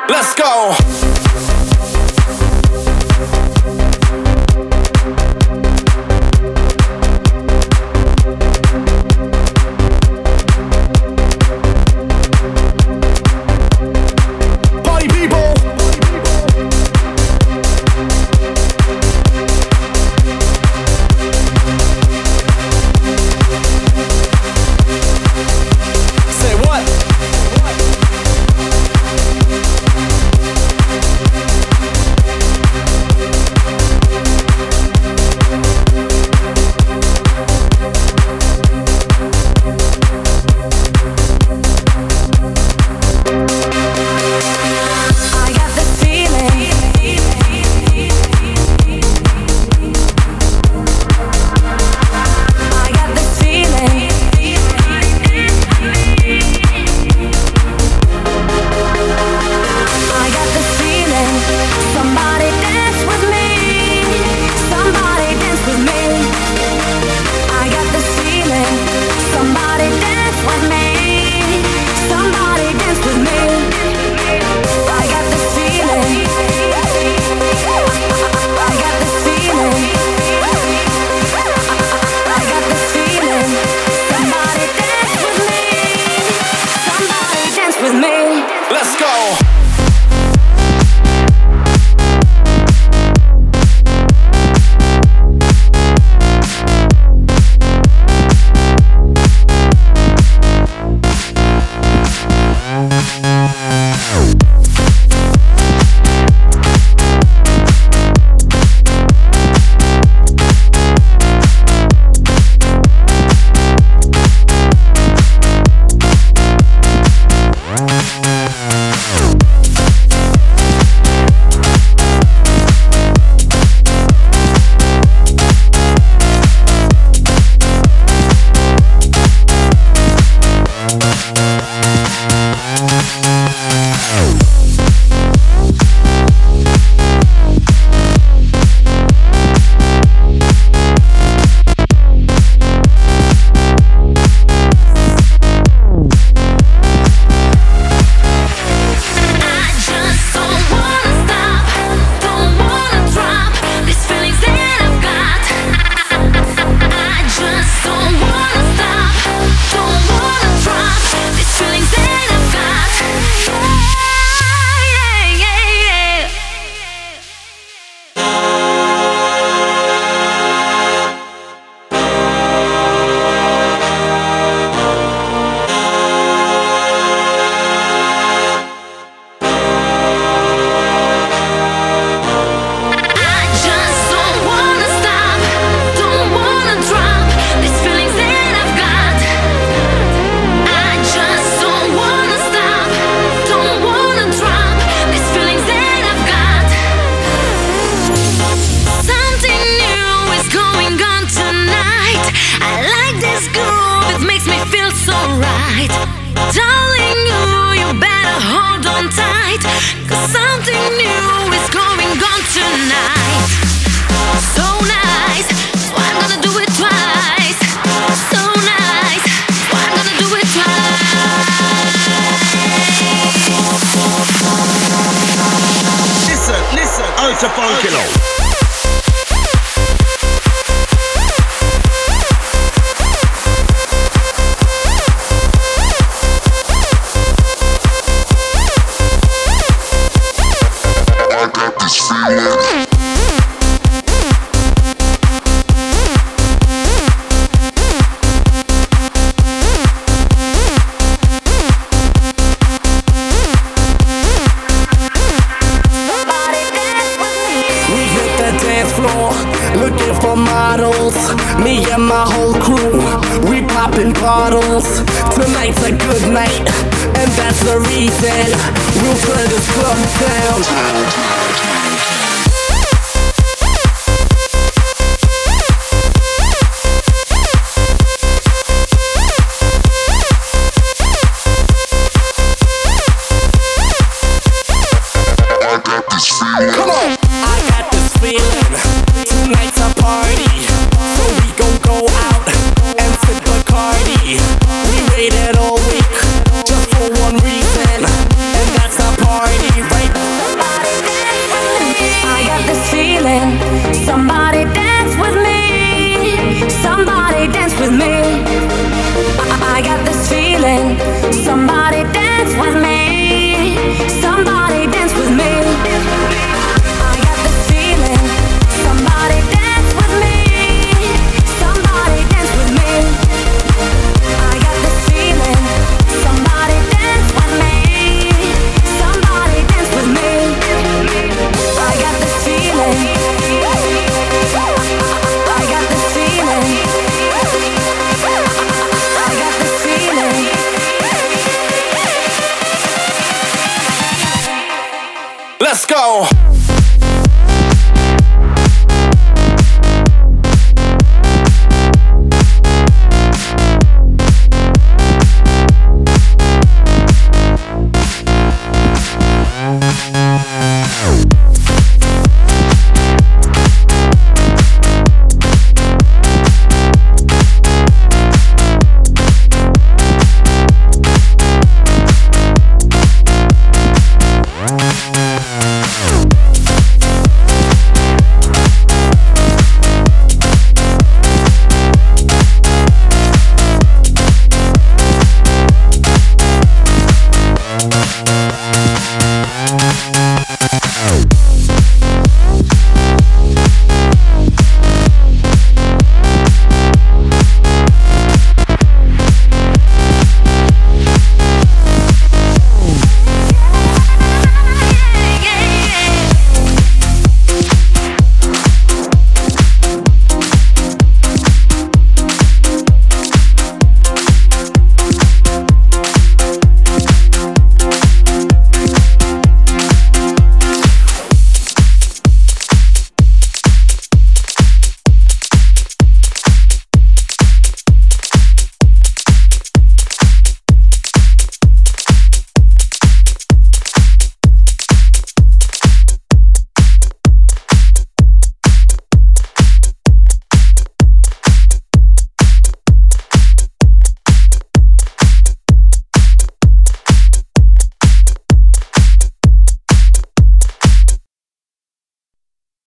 Let's go. Party people. Say what? I got this feeling. I got this feeling. I got this feeling. Somebody dance with me. Somebody dance with me. I got this feeling. Somebody dance with me. Somebody dance with me. I got this feeling. I got this feeling. I got this feeling. Somebody dance with me. Somebody dance with me. Let's go. I just don't wanna stop, don't wanna drop these feelings that I've got. I just don't wanna stop, don't wanna drop these feelings that I've got. Yeah, yeah, yeah. I just don't wanna stop, don't wanna drop these feelings that I've got. I just don't wanna stop, don't wanna drop these feelings that I've got. Something new is going on tonight. I like this groove, it makes me feel so right. Darling, you better hold on tight, 'cause something new is going on tonight. So nice, so I'm gonna do it twice. So nice, so I'm gonna do it twice. Listen, Ultra Funkilo. I got this feeling. Somebody dance with me. We hit the dance floor, looking for models. Me and my whole crew, we popping bottles. Tonight's a good night, and that's the reason we'll turn this club down. Come on! I got this feeling. Tonight's a party, so we gon' go out and sip Bacardi. We waited all week just for one reason, and that's a party right feeling. Somebody dance with me. Somebody dance with me. I got this feeling. Somebody dance with me. Somebody dance with me. I got this feeling. Somebody dance with me. Somebody dance with me. I got this feeling. Somebody dance with me. Somebody dance with me. I got this feeling. I got this feeling. I got this feeling. Let's go.